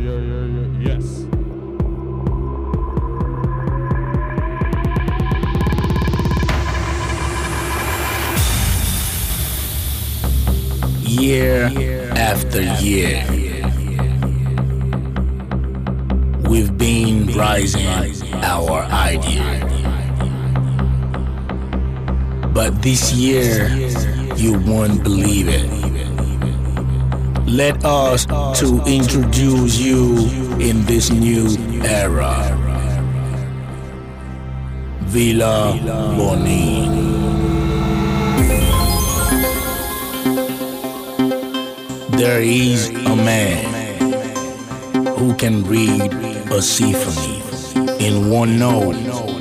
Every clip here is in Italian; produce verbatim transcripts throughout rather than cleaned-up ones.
yeah, yeah, yeah. Yes. Year after year, we've been rising our idea. But this year, you won't believe it. Let us to introduce you in this new era. Villa Bonin. There is a man who can read a symphony in one note,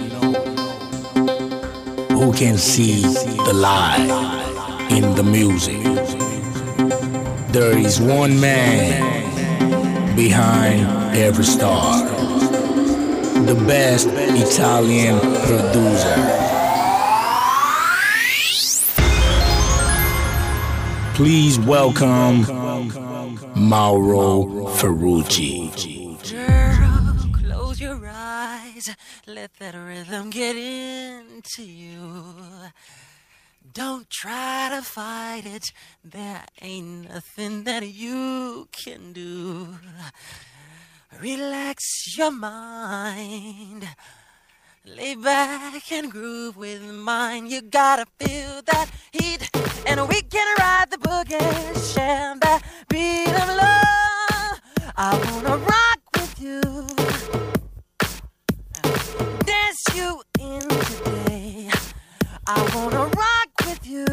who can see the light in the music. There is one man behind every star, the best Italian producer. Please welcome Mauro Ferrucci. Girl, close your eyes, let that rhythm get into you. Don't try to fight it, there ain't nothing that you can do. Relax your mind, lay back and groove with mine. You gotta feel that heat, and we can ride the boogie, share that beat of love. I wanna rock with you, dance you in today. I wanna rock with you,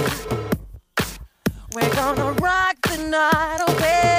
we're gonna rock the night away.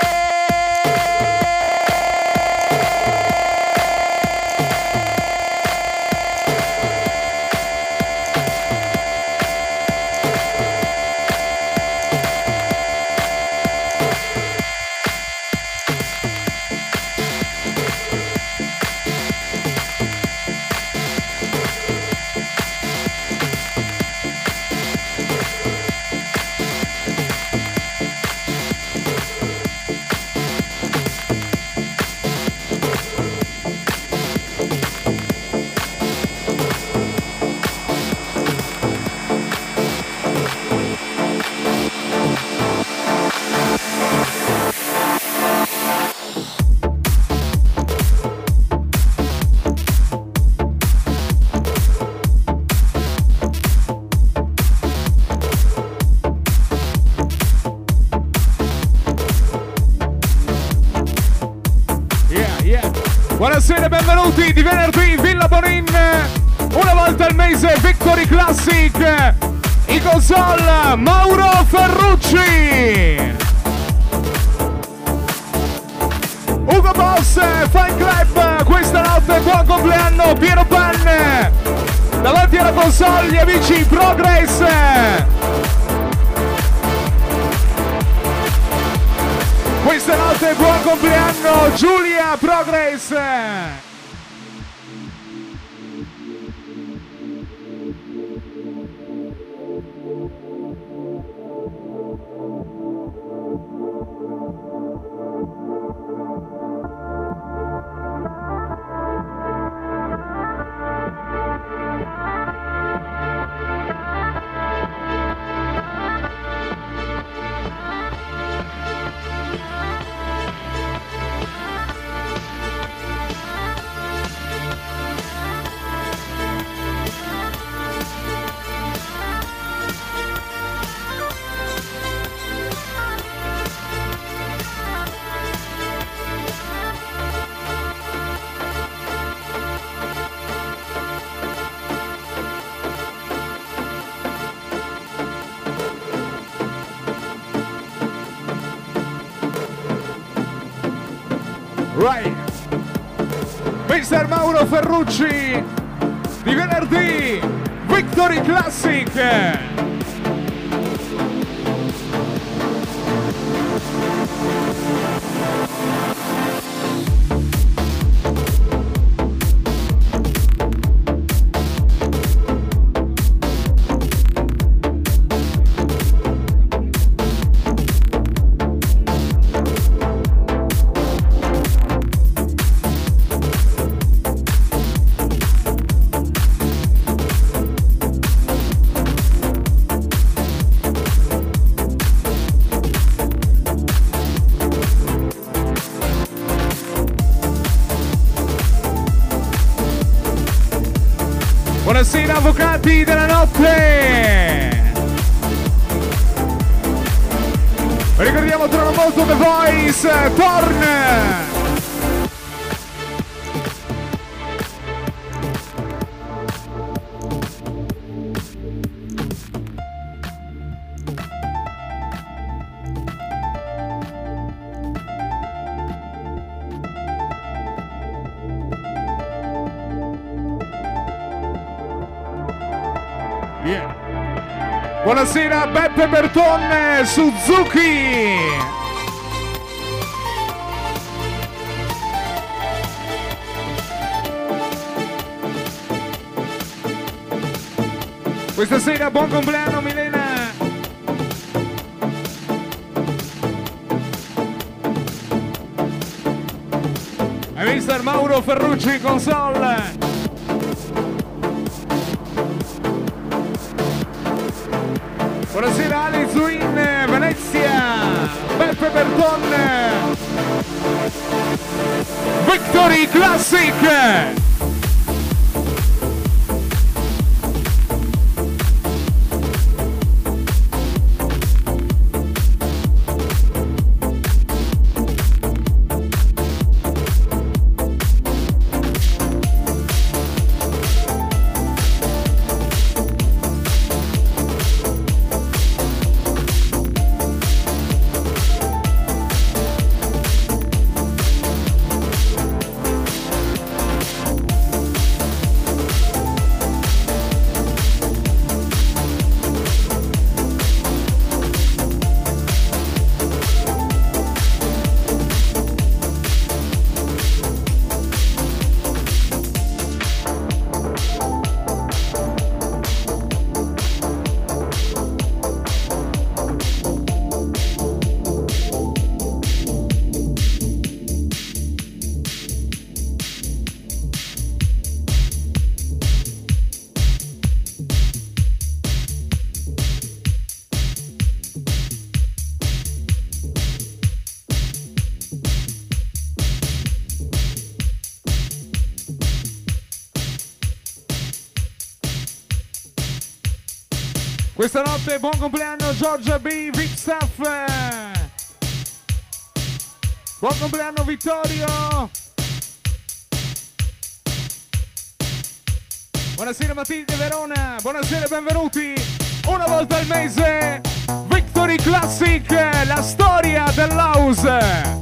Buonasera e benvenuti di venerdì in Villa Bonin. Una volta al mese Victory Classic. In console Mauro Ferrucci. Ugo Boss, Fan Club. Questa notte buon compleanno Piero Pan. Davanti alla console gli amici Progress. Questa notte buon compleanno Giulia Progress. Right. mister Mauro Ferrucci di venerdì Victory Classic. Buonasera avvocati della notte. Ricordiamo tra molto The Voice torna. Yeah. Buonasera Beppe Berton Suzuki. Questa sera buon compleanno Milena. Hai visto il Mauro Ferrucci console? Buonasera Ali Zuin, Venezia, Beppe Berton, Victory Classic. Questa notte buon compleanno Giorgia B, Vic Staff. Buon compleanno Vittorio. Buonasera Matilde Verona, buonasera e benvenuti. Una volta al mese Victory Classic, la storia dell'house.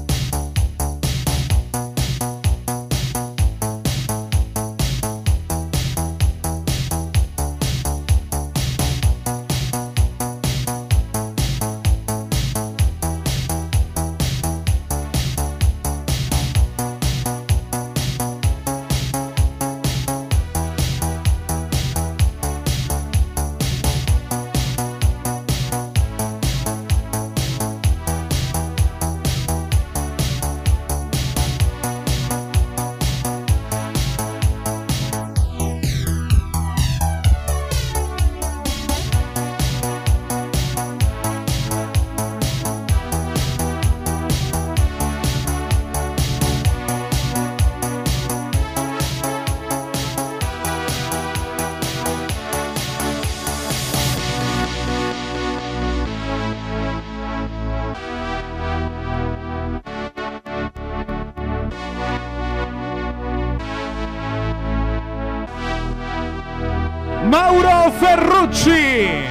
Mauro Ferrucci.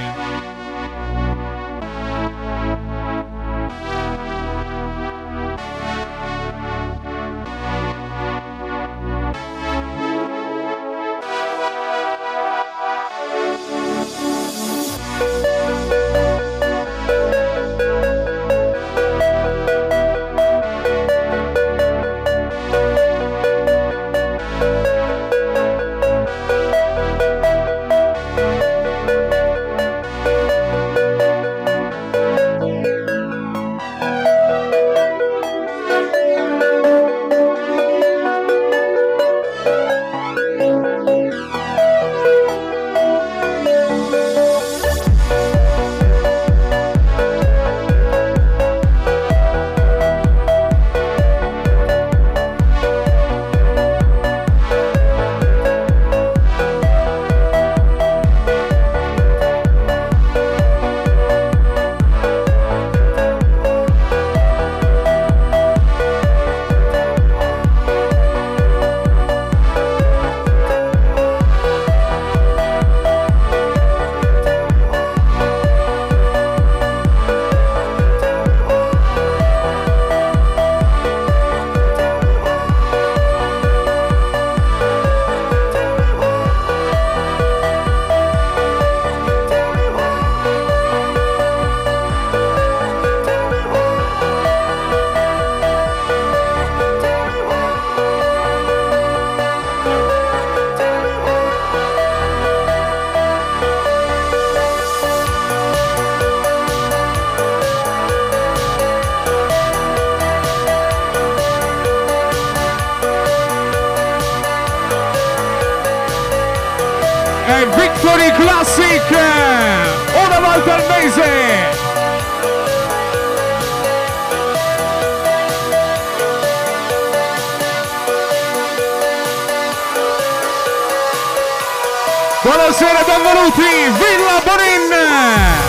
e Victory Classic, una volta al mese. Buonasera, benvenuti, Villa Bonin!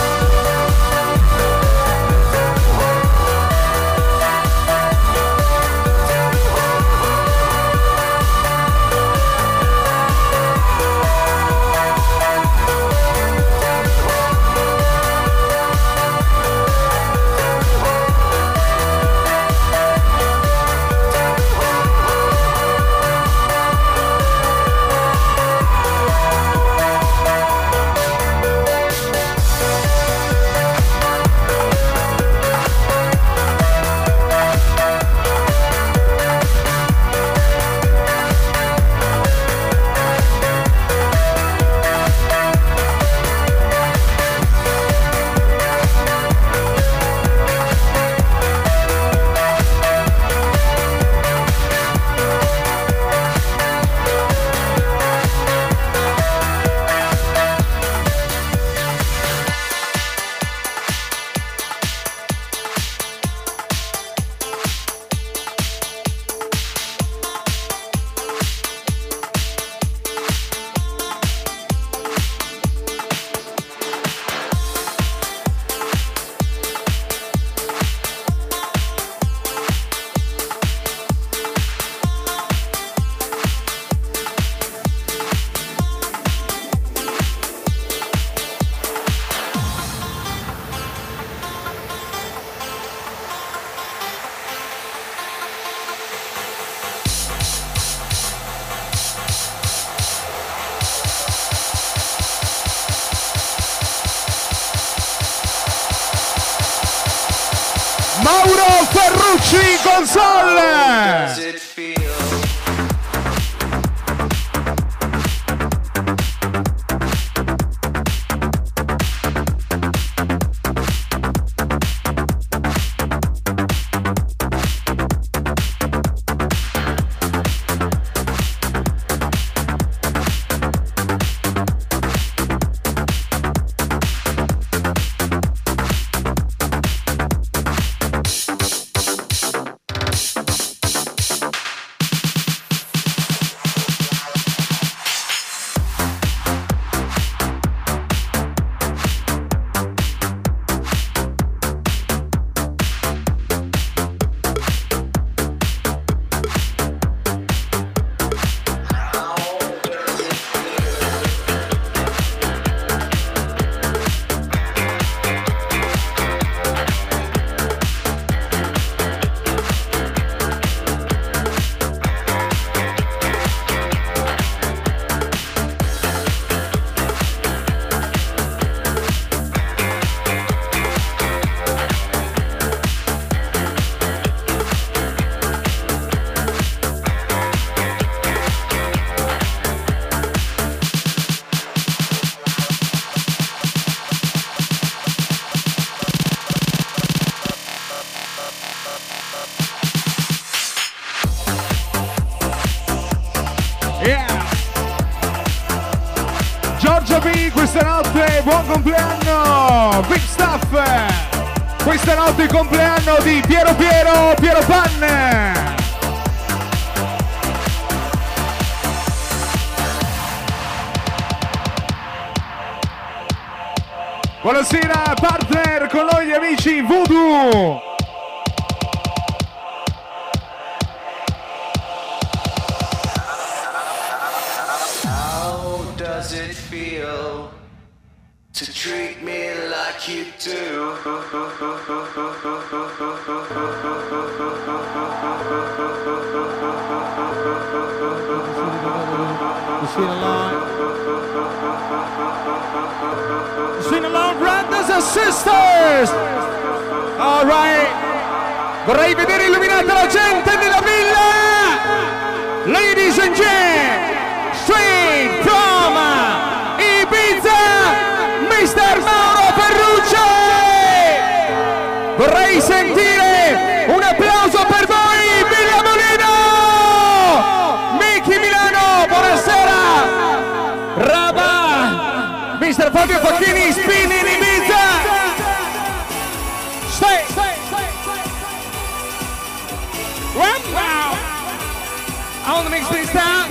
Mauro Ferrucci console. Questa notte buon compleanno Big Stuff, questa notte il compleanno di Piero Piero Piero Pan. Buonasera partner, con noi gli amici Voodoo. How does it feel to treat me like you do? Sing along. Sing along, brothers and sisters. All right. Vorrei vedere illuminata la gente della villa. Ladies and gentlemen, straight from Ibiza, mister Mauro Ferrucci. Vorrei sentire un applauso per voi, Villa Molino. Miki Milano, buonasera. Rabat. Fabio Facchini, Spin in Ibiza. Stay. Wow. On the mix please down.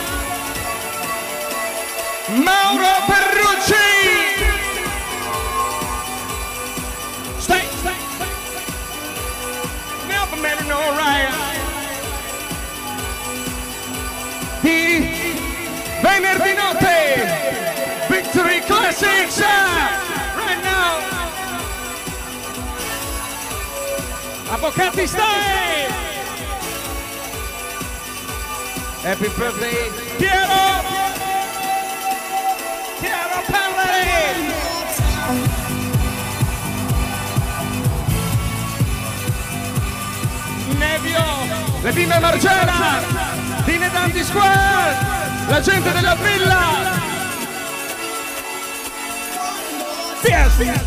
Mauro Ferrucci. Stay. Never met no right. Di venerdì notte, Victory Classics, right now. Avvocati stay. Happy birthday, Piero. Piero Pelleri. Nevio, le bimbe Margela, Dine Danti Square, la gente della villa. Yes.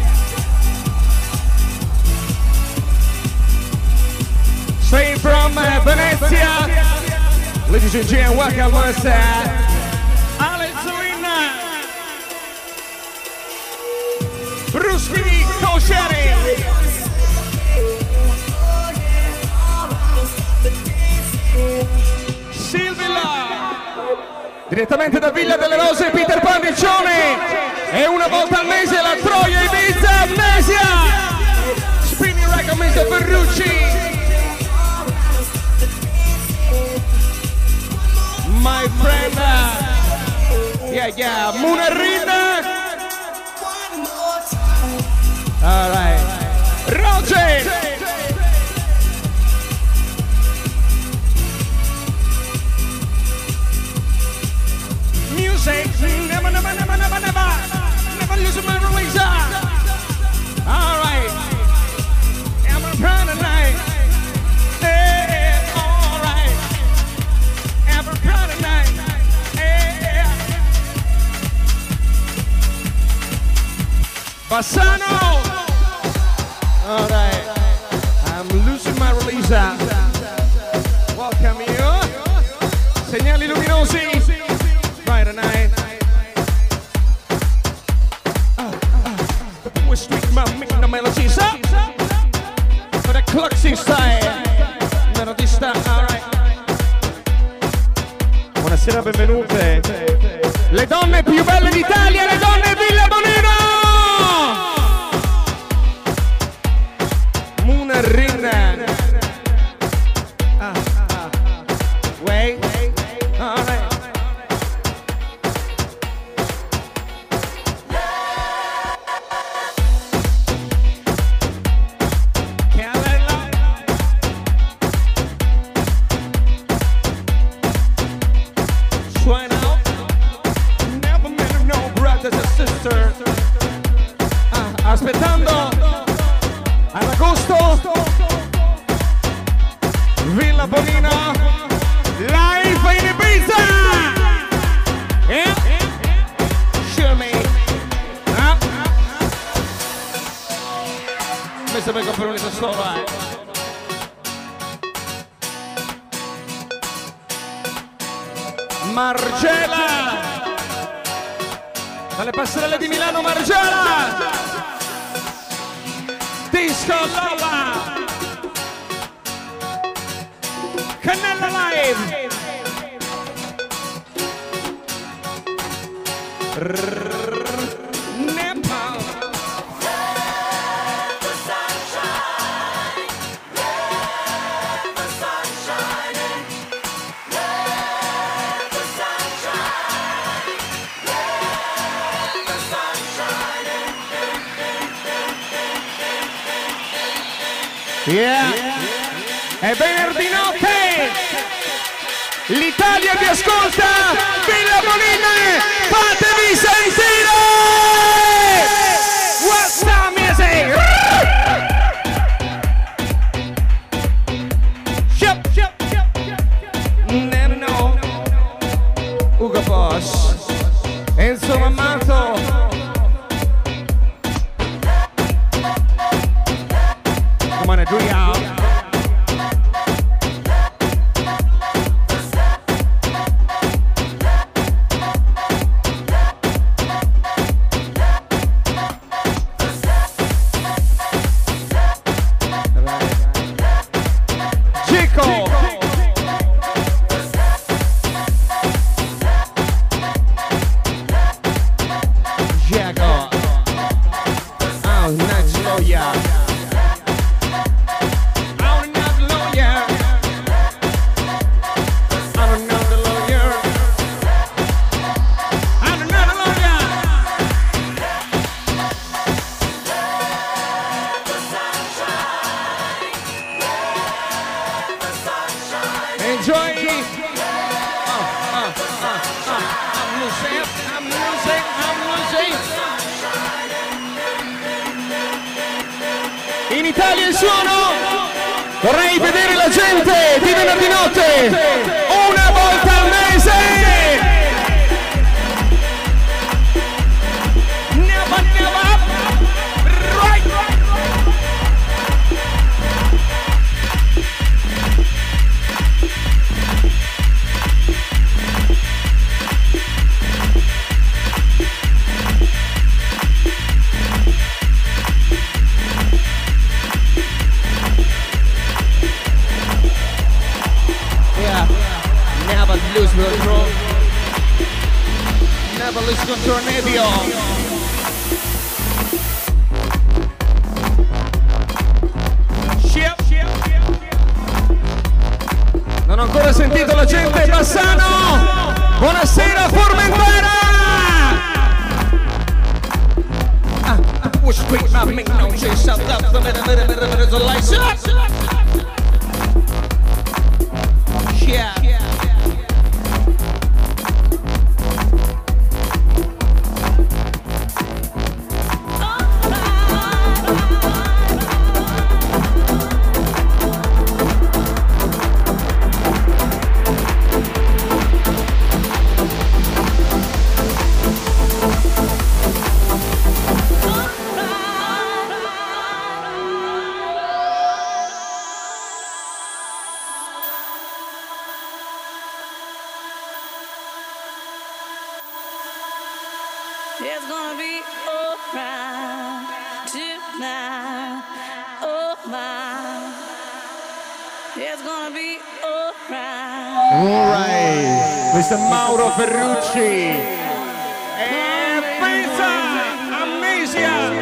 Straight from uh, Venezia. Ladies and gentlemen, welcome us uh, Alex Zuina, Bruski Koscieri. Direttamente da Villa delle Rose, Peter Pandiccione. E una volta al mese la Troia Ibiza Amnesia. Spinning Record mister Ferrucci. My friend. Uh, yeah, yeah. Munerrin. All right. Roger. Music, never, never, never, never, never, never lose my release. All right, I'm gonna proud tonight. Hey, all right, I'm gonna proud tonight. Hey, Bassano. All right, I'm losing my release. Welcome you. Segnali luminosi. Friday night. Uh, uh, we're street man making the melody, sir. For the Cluxy style. Melodista, alright. Buonasera, benvenute. Le donne più belle d'Italia, le donne Villa Bonino. Munerrin. Ah, ah. Wait. Alright. Ah, aspettando ad agosto Villa Bonino live in Ibiza. Yeah. Show me. Ah. Questo per comprare un solo, eh. Margela dalle passerelle di Milano, Margela. Disco Lola. Cannella Live. Nepal. Yeah. È venerdì notte, l'Italia vi ascolta, Villa Bonino, fatevi sentire! What's the music? Shop, shop, shop, never know. Ugo Boss, Enzo Mammato. Come on, do y'all. enjoy. Oh, oh, oh, oh. I'm losing, I'm losing, I'm losing. In Italia il suono. Vorrei vedere la gente di venerdì notte una volta al mese. Never, never. Right, right. Never lose control. Never lose control, Nebio. Ship, ship, non ho ancora sentito la gente. Bassano. Buonasera Formentera. Ah, push quick, my make no shit. Shut up, the minute, minute, minute, minute, the lights up. Yeah. It's gonna be alright tonight. Oh my. It's gonna be alright. Alright, mister Mauro Ferrucci. E pensa, Amnesia.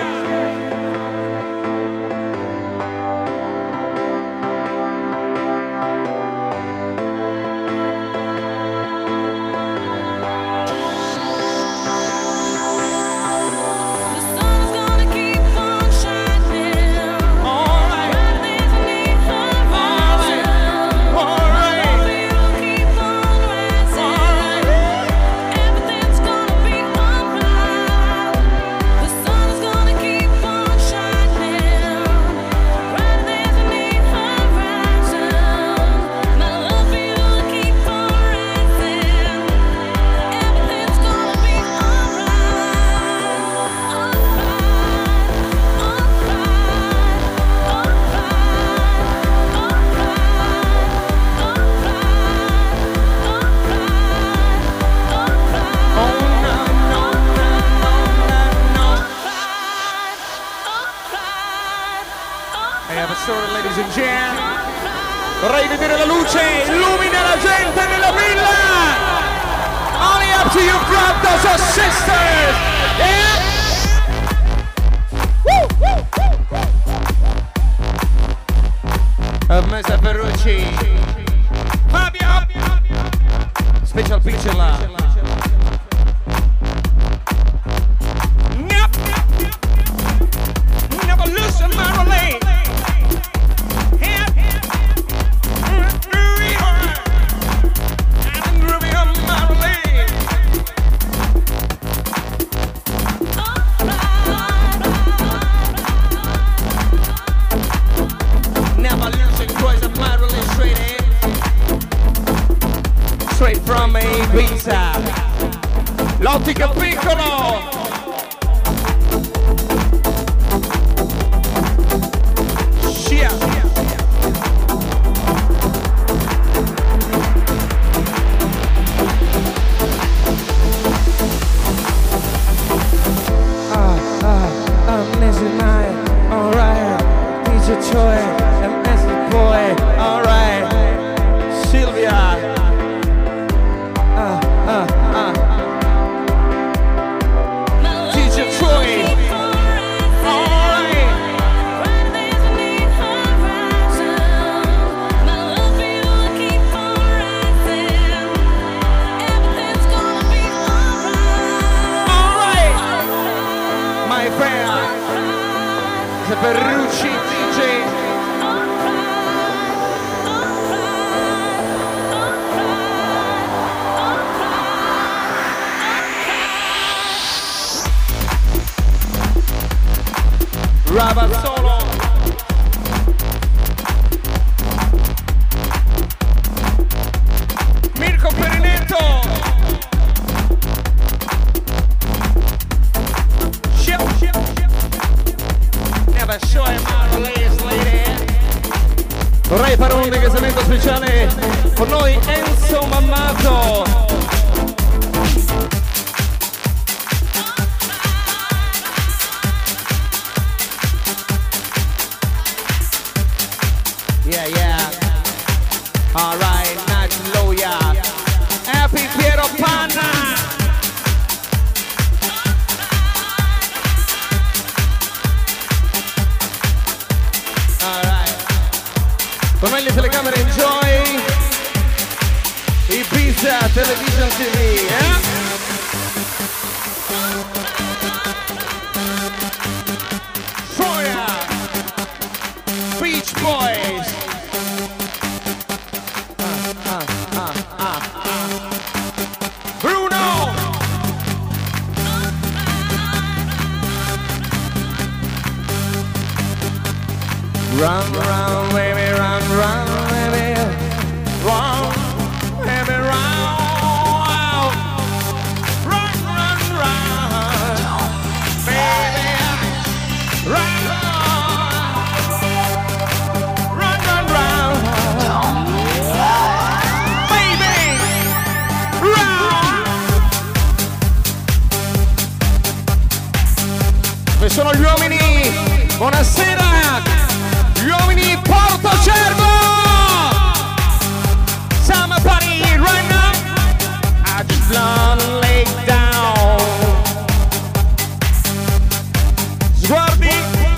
Ladies and gentlemen, vorrei vedere la luce, illumina la gente nella villa. Only up to you brothers or sisters. Yeah. Woo, woo, woo, woo. mister Ferrucci, Fabio, special picture là. Never lose my relay. Straight from Ibiza, l'ottica piccolo. Scia. Ah, ah, Amnesia night, alright. D J Choi, Amnesia boy, alright. Silvia. Uh, uh, uh. Vorrei fare un ringraziamento speciale con noi Enzo Mammato. Yeah, yeah. All right, Nacho Loya. Happy Piero Panna. Con me le telecamere Enjoy Ibiza Television T V, eh? Troya Beach Boys. Ah, ah, ah, ah, ah. Bruno. Run, run, baby, run, run, baby, run, baby, run, run, run, run, baby, run, run, run, run, baby, run. Questi sono gli uomini, buonasera. Gli uomini Porto Cervo! Summer party right now. I just wanna lay down. Sguardi.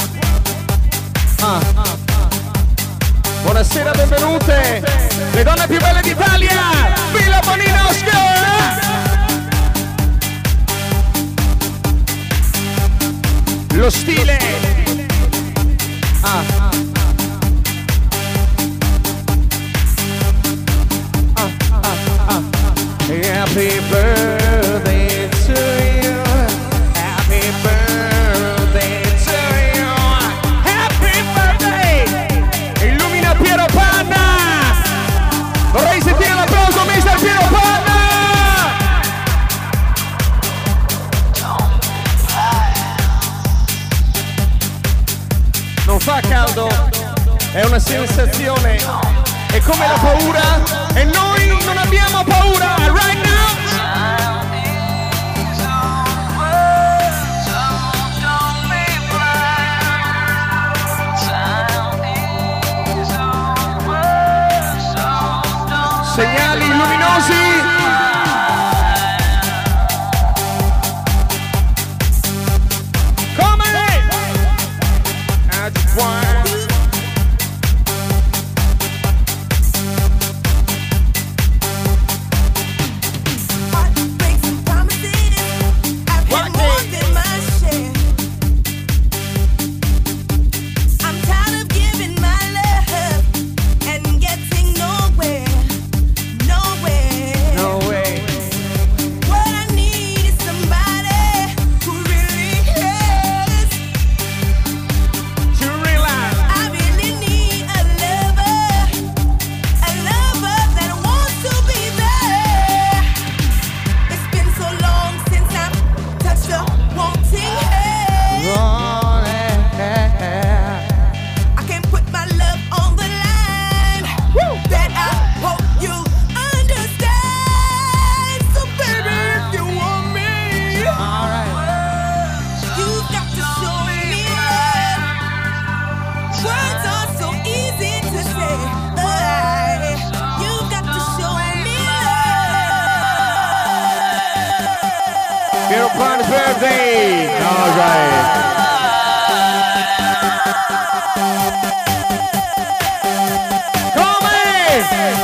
Ah. Buonasera, benvenute. Le donne più belle d'Italia. Villa Bonino Lo stile. Ah. Happy birthday to you. Happy birthday to you. Happy birthday. Illumina Piero Panna. Vorrei sentire l'applauso, mister Piero Panna. Non fa caldo, è una sensazione. È come la paura e noi non abbiamo paura. Right now. Segnali luminosi. Come? I just want. Birthday! All right. Come!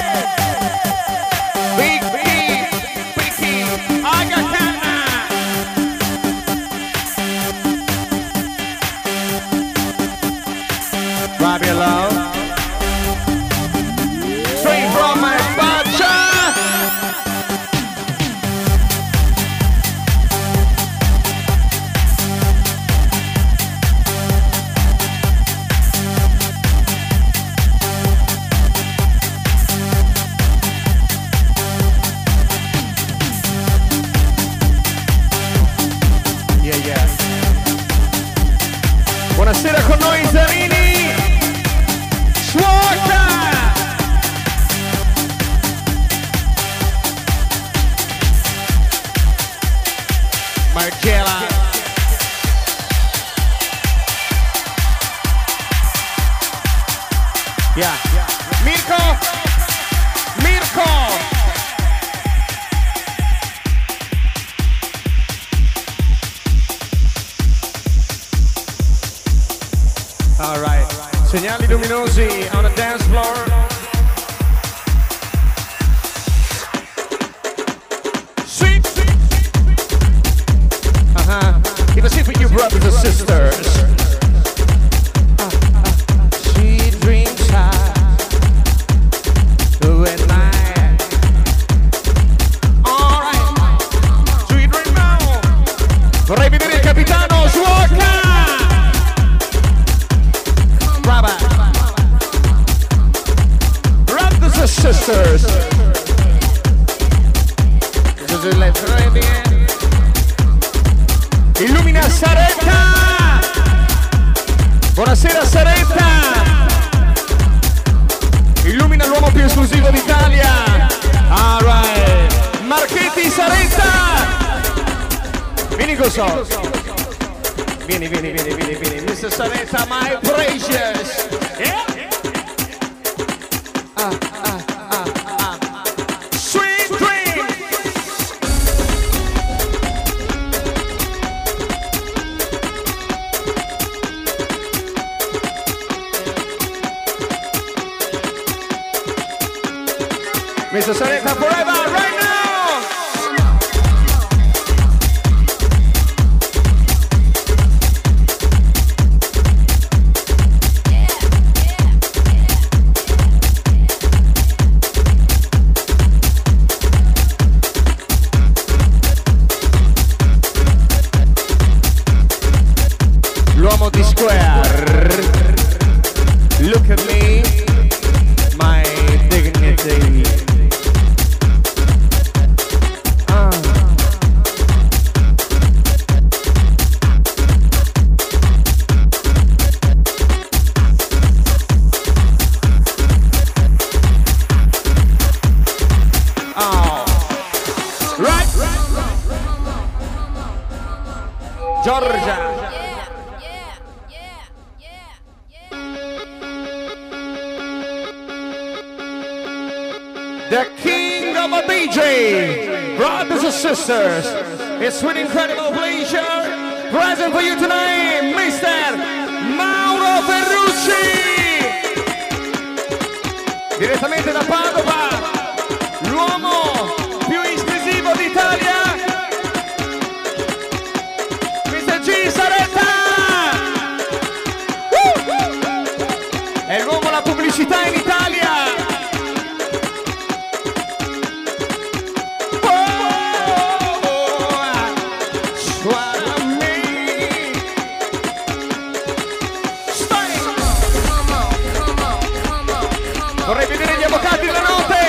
Big, big, big, Aga Kana! Bobby Love. Straight from my bacha! Yeah. Mirko! Mirko! All right. Segnali luminosi on the dance floor. Sweet. Uh-huh. Keep it safe with you, brothers and sisters. Uh, uh, sweet dreams are you and I. All right. Sweet dream now. Vorrei vedere il capitano Sciocca. Brothers and sisters. Illumina Saretta. Buonasera Saretta. Illumina l'uomo più esclusivo d'Italia. All right. Marchetti Saretta. Vieni Goso. Vieni, vieni, vieni, vieni, vieni. mister Saretta, my precious. Yeah. Ah, ah, ah, ah, ah. Sweet dream. mister Saretta forever, right now. L'uomo di Square. Look at me, my dignity. Ah. Oh. Right. Giorgia. The king of a D J, brothers and sisters, it's with incredible pleasure, present for you tonight, mister Mauro Ferrucci, direttamente da Padova, l'uomo più esclusivo d'Italia, mister G Saretta, uh! È l'uomo la pubblicità in Italia. Vorrei vedere gli avvocati la notte.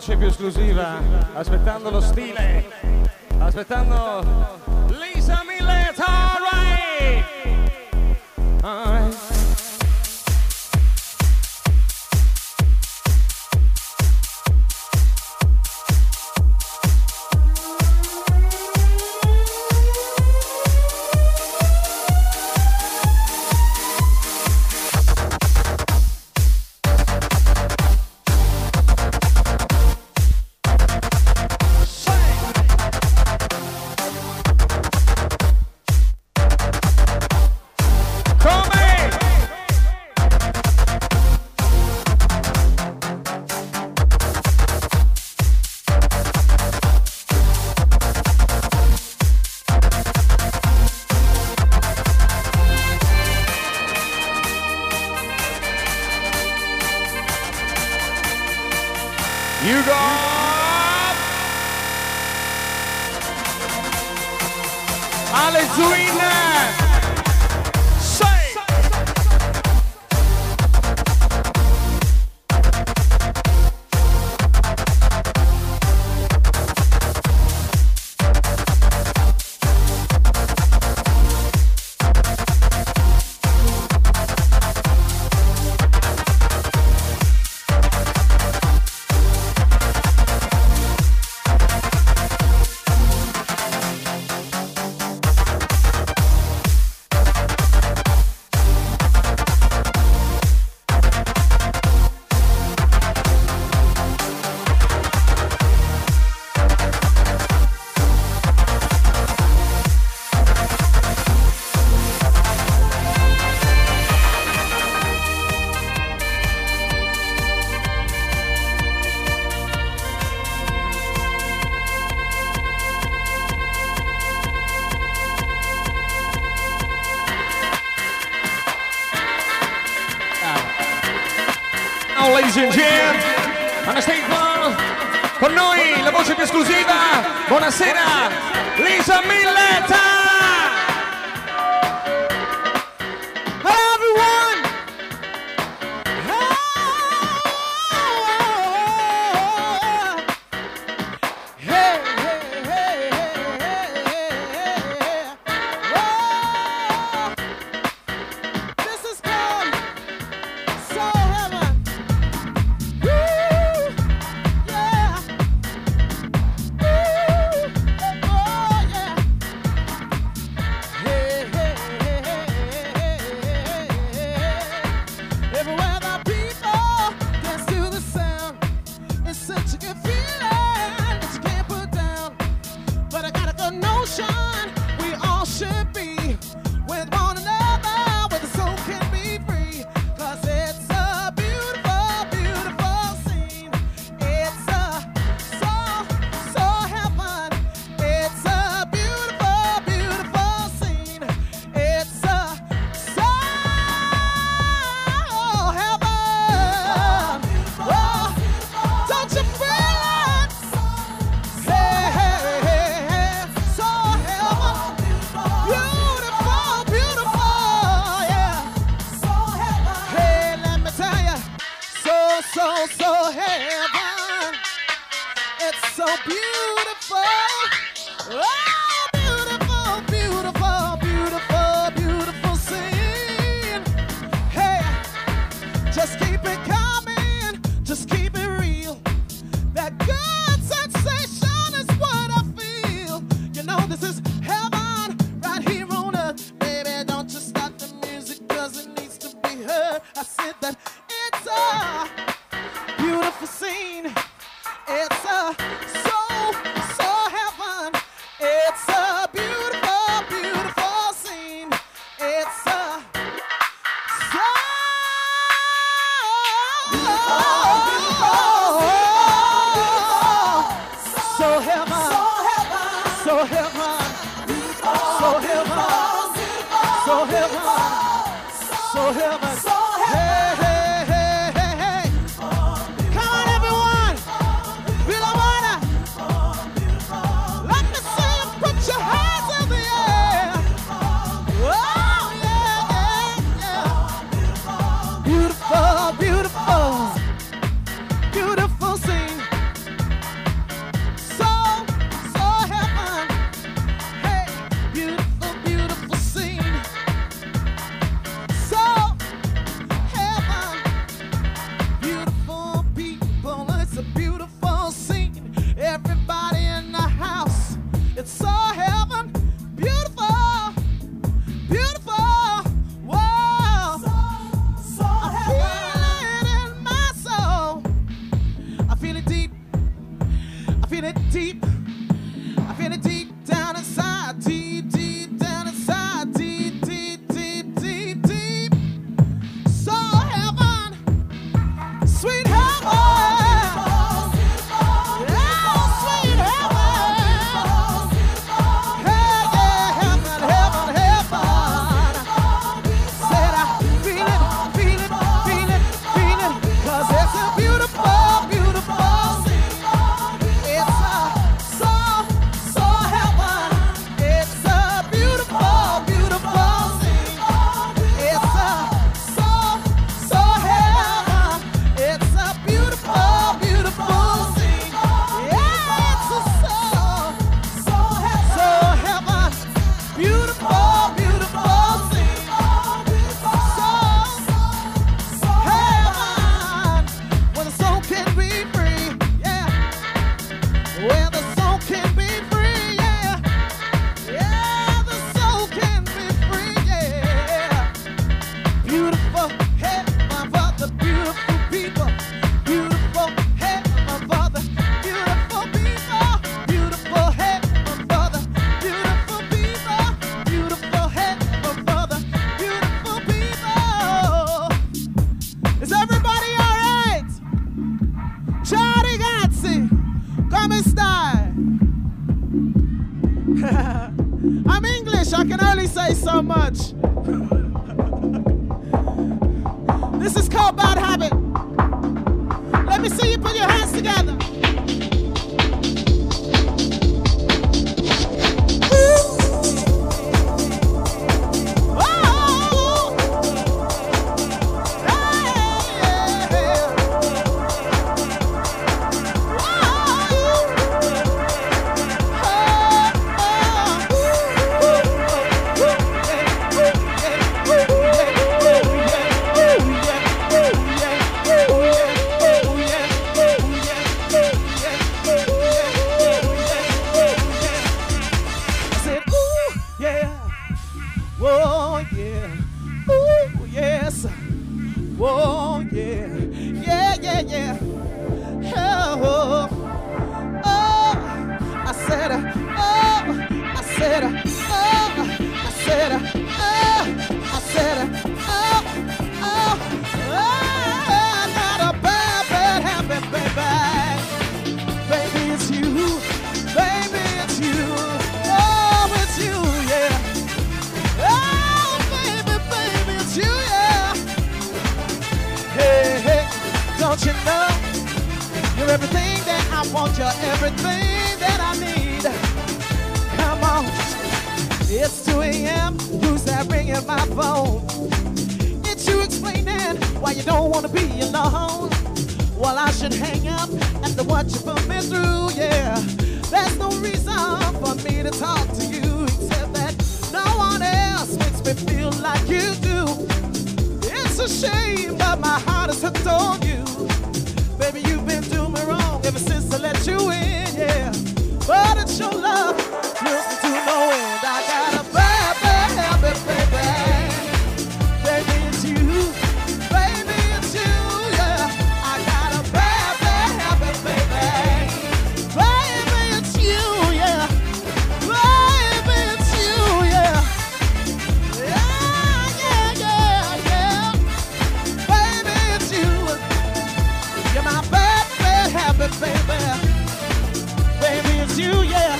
voce più esclusiva, aspettando lo stile, aspettando Lisa Millet, alright! Alright. You got Alezuina. Say. Ladies and gentlemen, on the stage one, con noi la voce più esclusiva, buonasera, Lisa Millet! Hello everyone! Hey, hey, hey, hey, hey, oh, this is called Soul Heaven. So, so heaven, it's so beautiful, oh, beautiful, beautiful, beautiful, beautiful scene. Hey, just keep it coming, just keep it real. That good sensation is what I feel. You know this is heaven right here on earth. Baby, don't just stop the music, cause it needs to be heard. I said that it's a beautiful scene. It's a soul, soul heaven. It's a beautiful, beautiful scene. It's a soul, soul heaven, soul heaven, soul heaven, soul heaven, soul heaven. Hey, hey, hey, hey, hey. Come on, everyone. Feel the water. Let me see you put your hands in the air. Oh, yeah, yeah, yeah. Beautiful, beautiful, beautiful scene. feel it deep. I feel it deep down inside. Deep, deep down inside. Deep, deep, deep, deep, deep. So heaven, sweet heaven. I'm English, I can only say so much. This is called Bad Habit. Let me see you put your hands together. Don't you know you're everything that I want, you're everything that I need. Come on, it's two a.m. Who's that ringing my phone? It's you explaining why you don't want to be alone. Well, I should hang up after what you put me through, yeah. There's no reason for me to talk to you except that no one else makes me feel like you do. It's a shame, but my heart is hooked on you. Baby, you've been doing me wrong ever since I let you in, yeah. But it's your love, thrills me to no end. I got a bad, bad habit, baby. Baby, it's you. Baby, it's you, yeah. I got a bad, bad habit, baby. Baby, it's you, yeah. Baby, it's you, yeah. Yeah, yeah, yeah, yeah. Baby, it's you. You're my bad, bad habit, baby. Baby, it's you, yeah.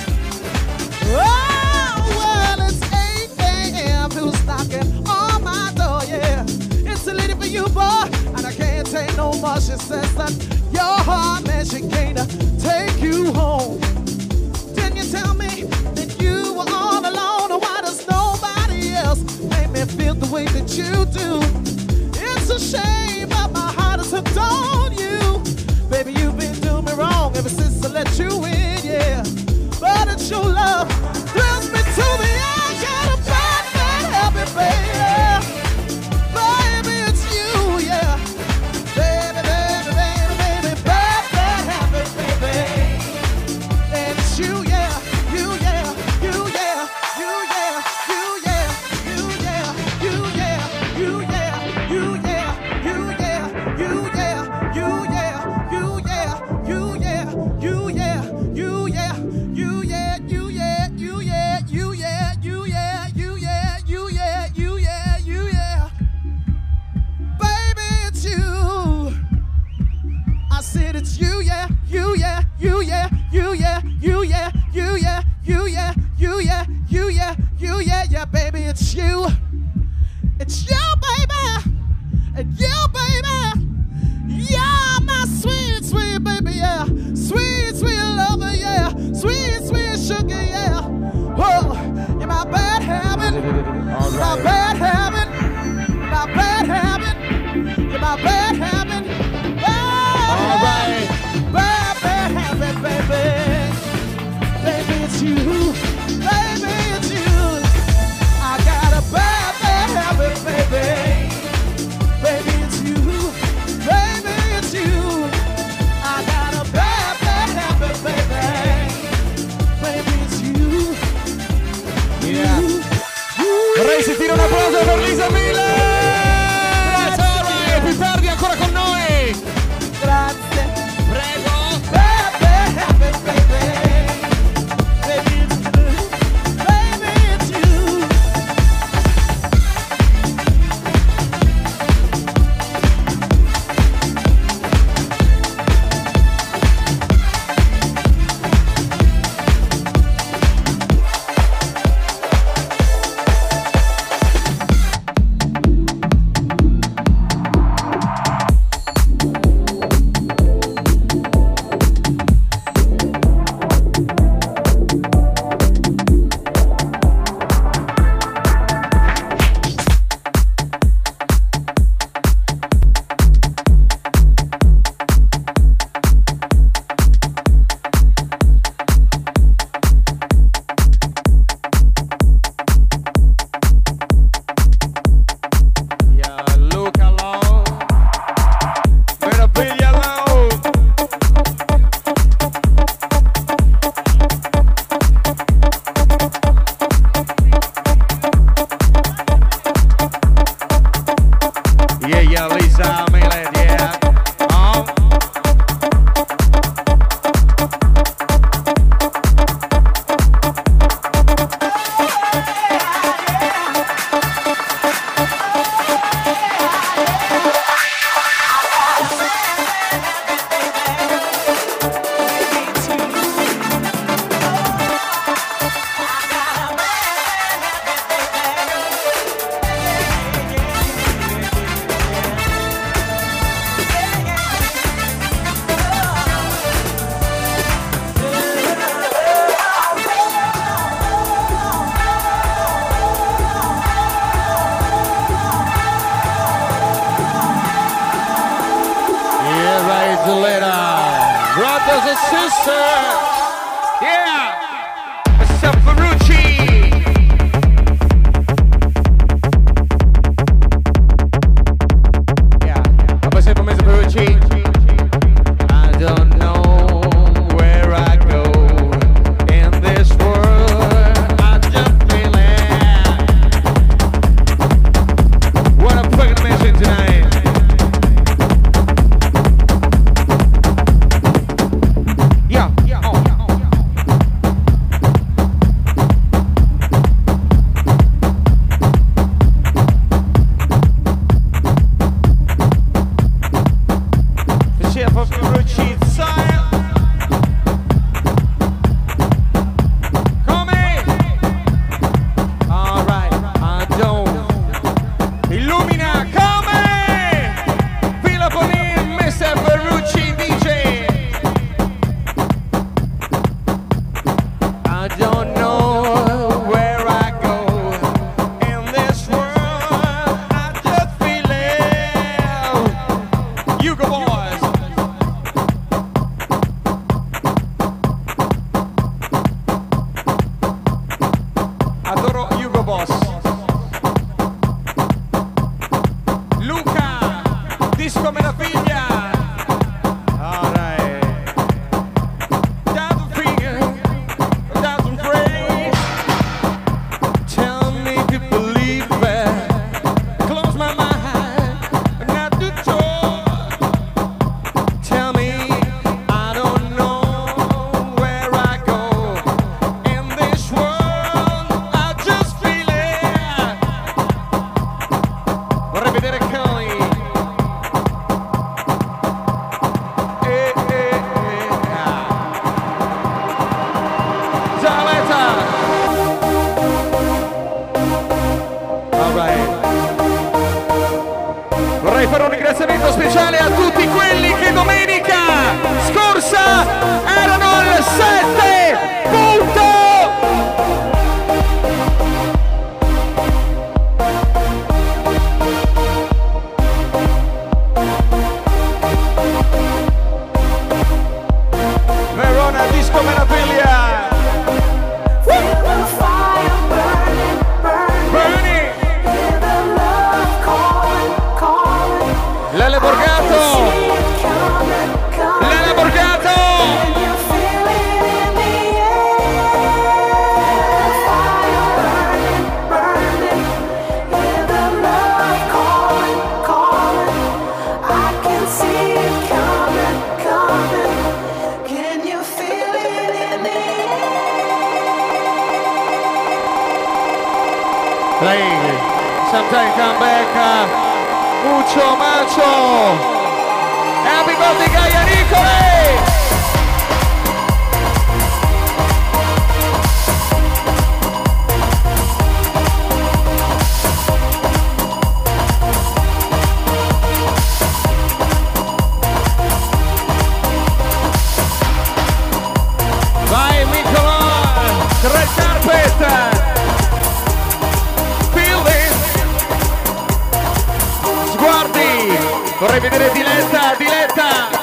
Oh, well, it's eight a.m. Who's knocking on my door, yeah. It's a lady for you, boy, and I can't take no more. She says that your heart, man, she can't take you home. Didn't you tell me that you were all alone? Or why does nobody else make me feel the way that you do? It's a shame, but my heart is hooked on you. Baby, you've been doing me wrong ever since I let you in, yeah. But it's your love, thrills me to the end. Got a bad, bad habit, baby. Baby, it's you, yeah. Baby, baby, baby, baby, bad, bad habit, baby. And it's you, yeah, you, yeah, you, yeah, you, yeah, you, yeah, you, yeah, you, yeah, you, yeah, you, yeah, you, yeah, you, yeah, you, yeah, you, yeah, you, yeah, you, yeah. un applauso per Lisa Miller! Grazie! Più tardi ancora con noi! Grazie. Prego! Lele Borgato! Like, sometimes come back, uh, mucho macho. Happy birthday, Gaia Nicole! Vai, Nicolò! Red carpet! Sguardi, vorrei vedere Diletta, Diletta.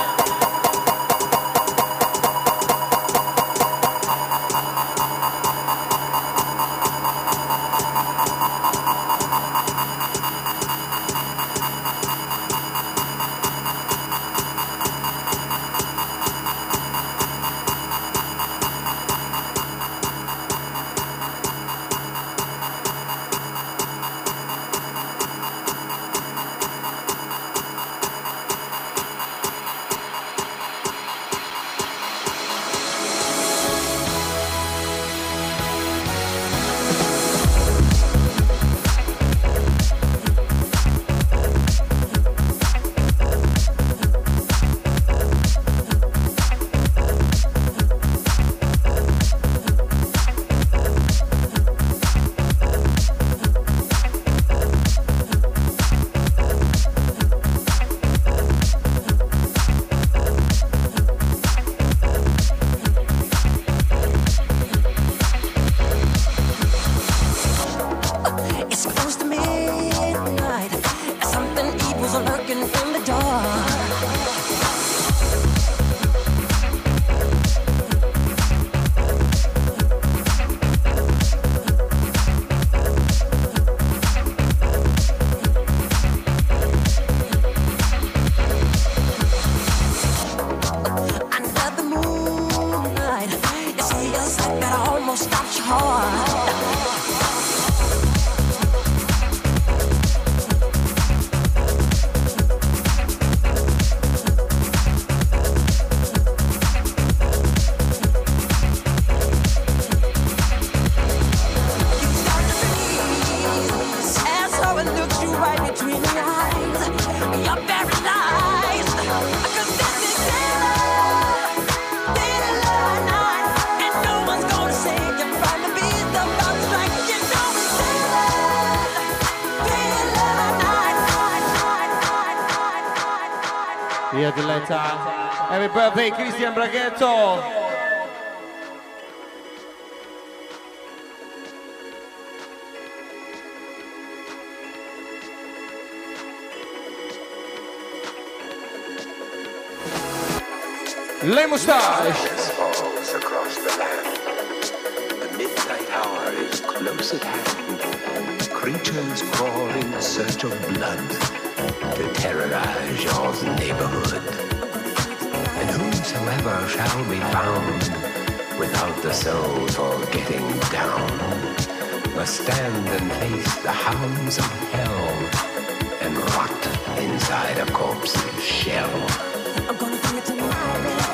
Via Diletta. Happy birthday Cristian Braghetto. Le Moustache. Falls across the land. The midnight hour is close at hand. Creatures crawl in search of blood to terrorize your neighborhood. And whosoever shall be found without the soul for getting down must stand and face the hounds of hell and rot inside a corpse's shell. I'm gonna bring it to life.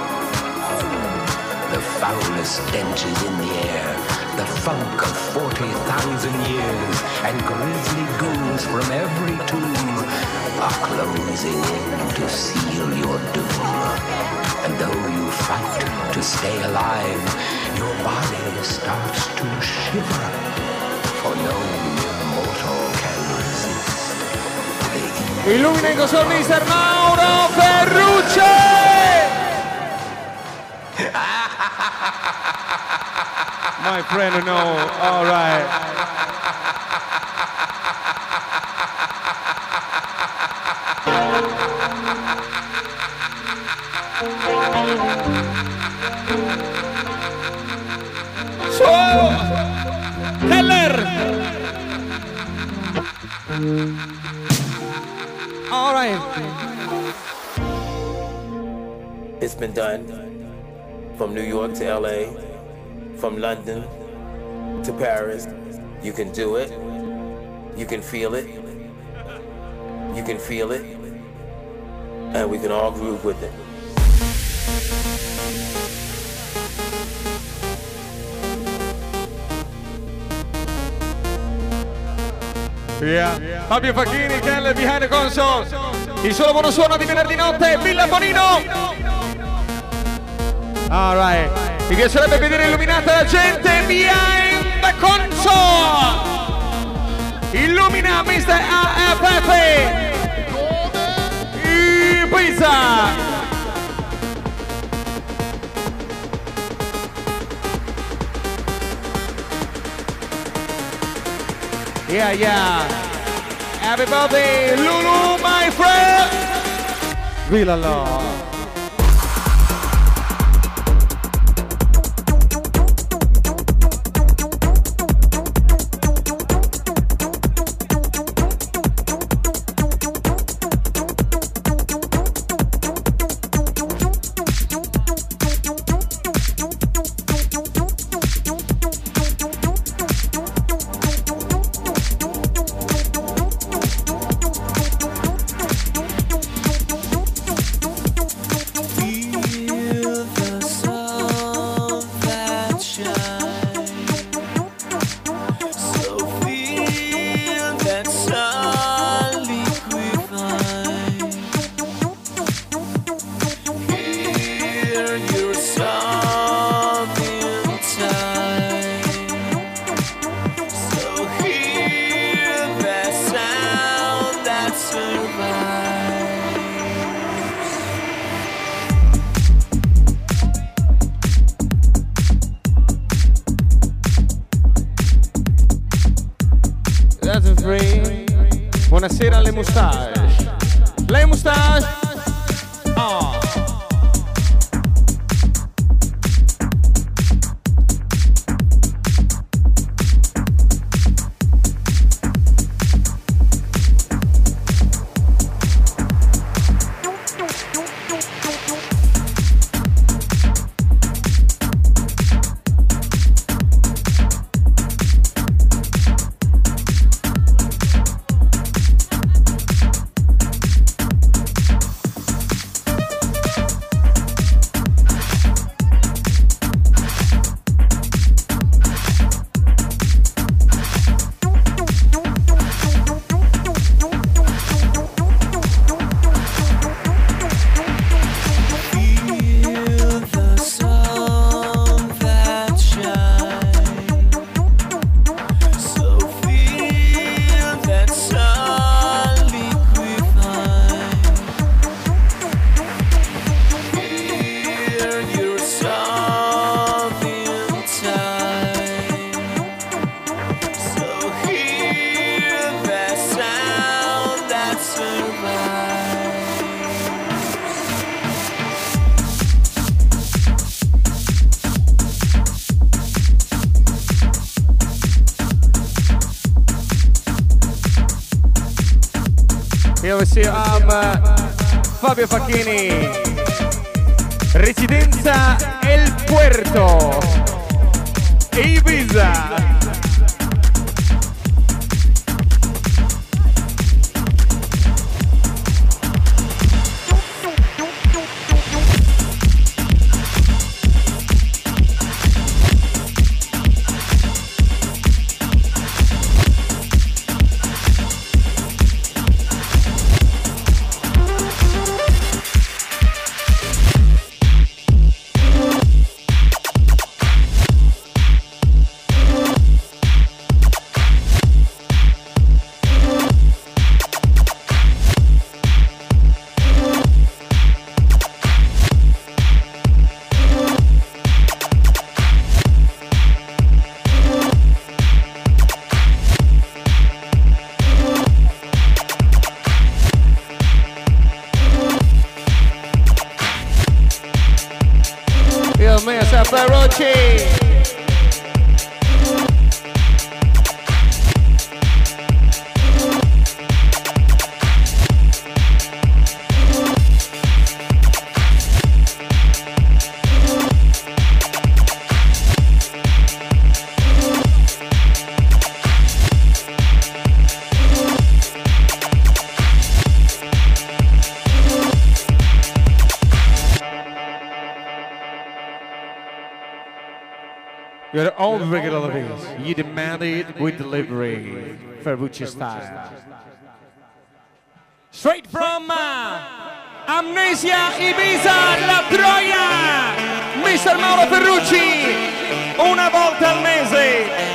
The foulest stench is in the air, the funk of forty thousand years, and grisly ghouls from every tomb are closing in to seal your doom. And though you fight to stay alive, your body starts to shiver, for no immortal can resist the Illumina con mister Mauro Ferrucci! My friend, no, all right. So, Heller. All right. It's been done from New York to L A, from London to Paris. You can do it. You can feel it. You can feel it. And we can all groove with it. Yeah. Fabio Facchini, Kel behind the console. Il solo buono suono di venerdì notte, Villa Bonino. Alright. Mi piacerebbe vedere illuminata la gente behind the console. Illumina mister A F F. Ibiza. Yeah, yeah. Everybody, Lulu, my friend. Villa Law. Buonasera alle moustache. Le moustache. Oh. Here we see um, Fabio Facchini, residenza El Puerto, Ibiza. You're all regular ladies. You demand it with delivery. Ferrucci style. Straight from uh, Amnesia Ibiza, La Troia. mister Mauro Ferrucci. Una volta al mese.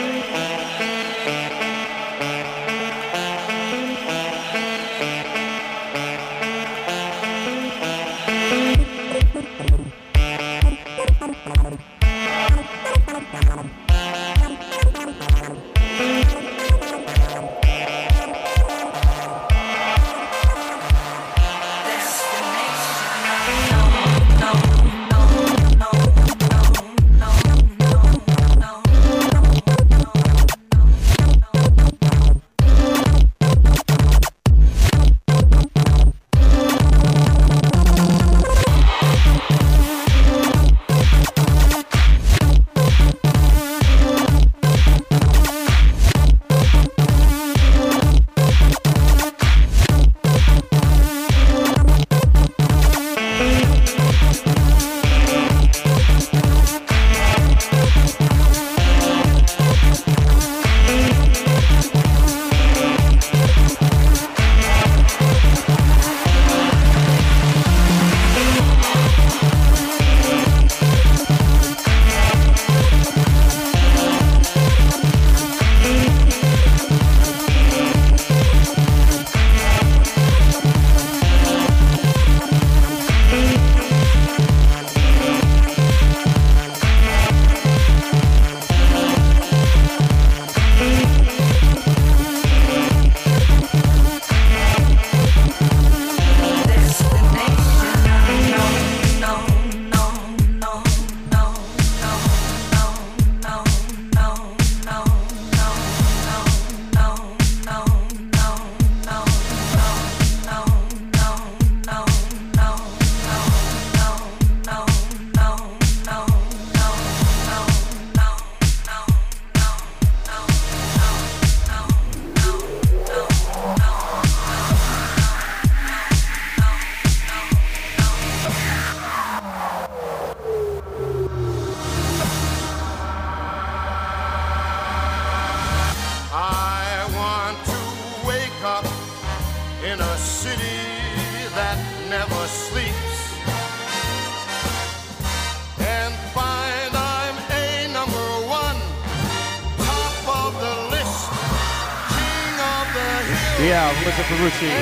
Yeah, mister Ferrucci.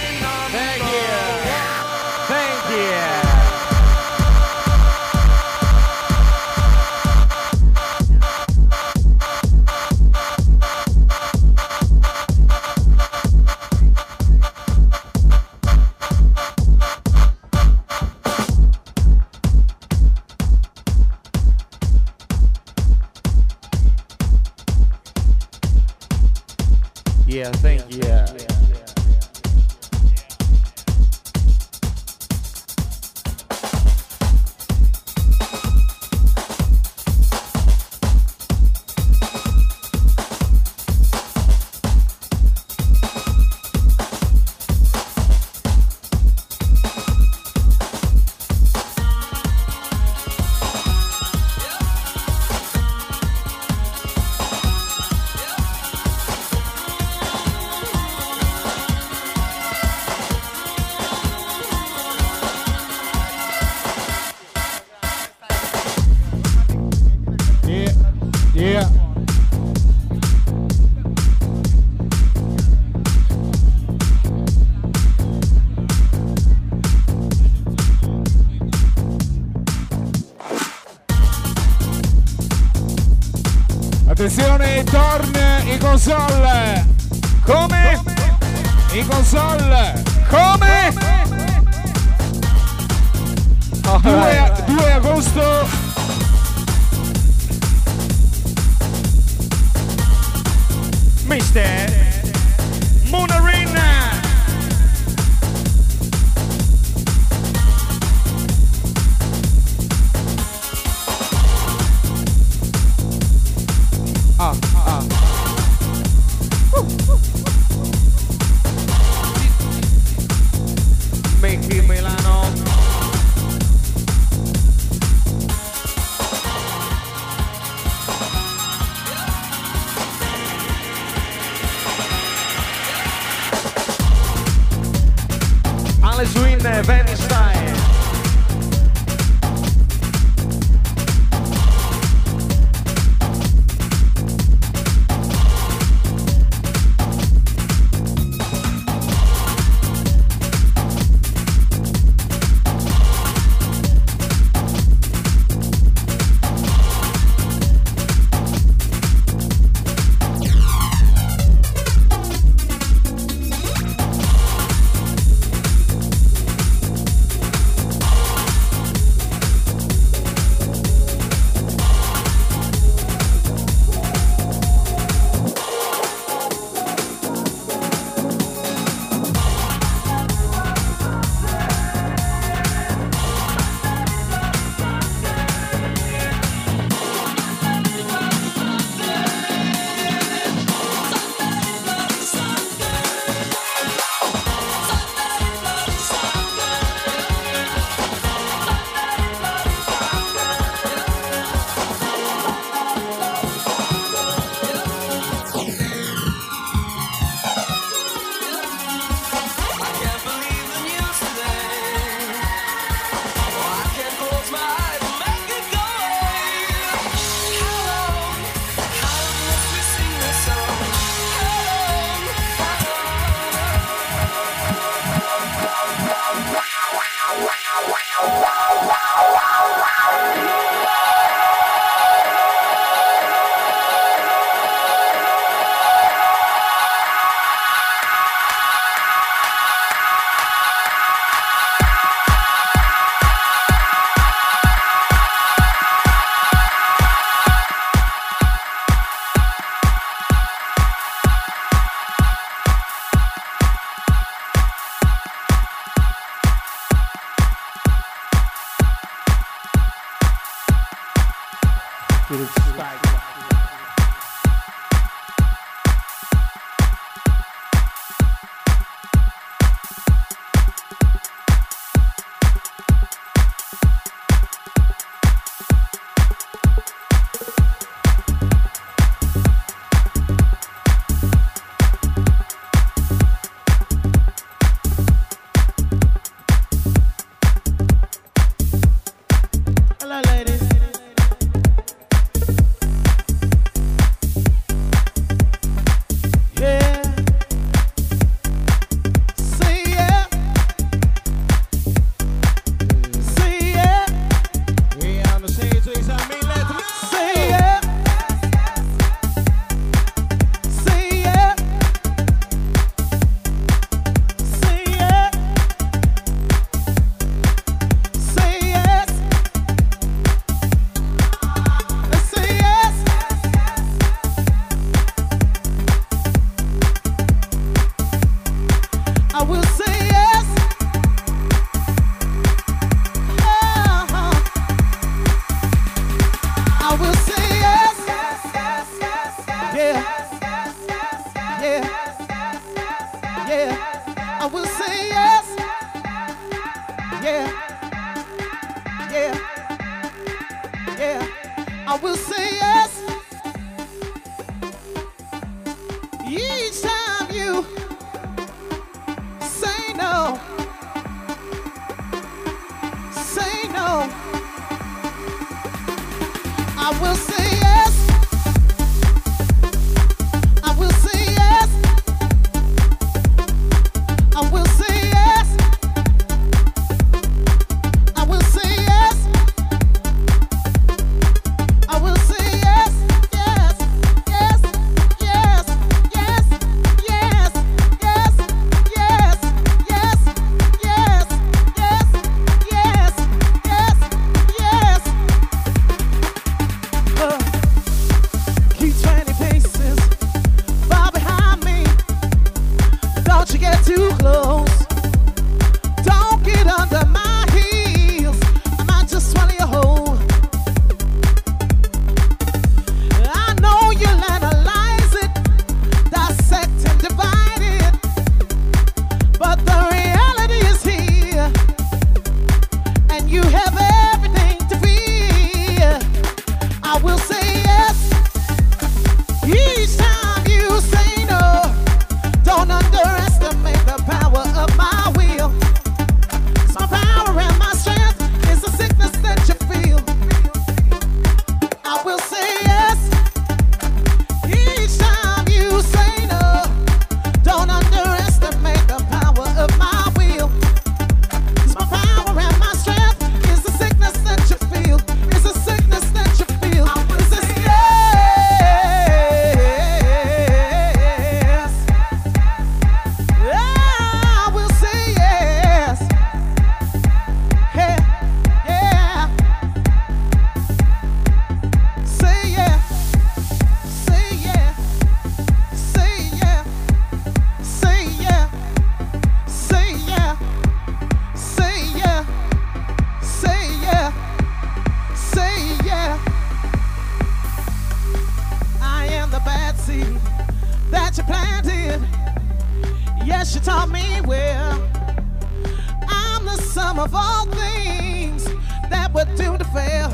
Thank you. Thank you. Yeah, thank you. Yeah. Yeah. Attenzione, torn in console. Come? In console. Come? due agosto. mister Munarina. Ah, ah. Uh. Mickey Milano. With its strike. Hello, ladies. I will say yes each time you say no. Say no. I will say yes. I will say yes. I will say yes. I will say yes. I will say yes. Yes. Yes. Yes. Yes. Yes. Yes. Yes. Yes. Yes. Yes. Yes. Yes. Uh, keep twenty paces far behind me. Don't you get too close. Don't get under my heels. I might just swallow you whole. I know you'll analyze it, dissect and divide it, but the reality is here, and you have everything to fear. I will say yes each time you say no. Don't underestimate the power of my will. 'Cause my power and my strength is the sickness that you feel. I will say yes each time you say no. Don't underestimate the power of my will. 'Cause my power and my strength is the sickness that you feel. Is the sickness that you feel. Is this yes? I will say yes. Yeah, yeah. Say yeah. Say yeah. Say yeah. Say yeah. Say yeah. Say yeah. Say yeah. Say yeah. I am the bad seed that you planted. Yes, you taught me well. I'm the sum of all things that were doomed to fail.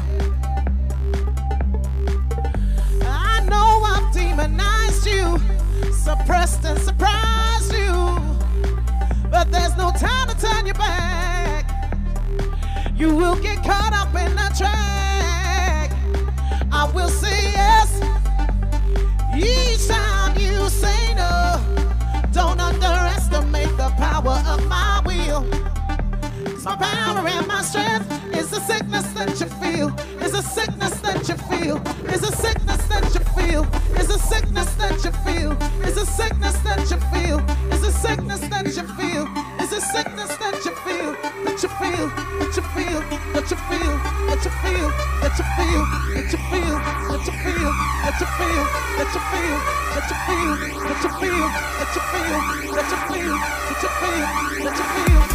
I know I've demonized you, suppressed and surprised you, but there's no time to turn your back. You will get caught up in the track. I will say yes each time you say no. Don't underestimate the power of my will. 'Cause my power and my strength is the sickness that you feel. Is the sickness that you feel. Is the sickness that you feel. Is the sickness that you feel. Is the sickness that you feel. Is the sickness that you feel. Is the sickness that you feel. That you feel. That you feel. That you feel. That you feel. That you feel. That you feel. That you feel. That you feel. That you feel. That you feel. That you feel. That you feel. That you feel. That you feel. That you feel.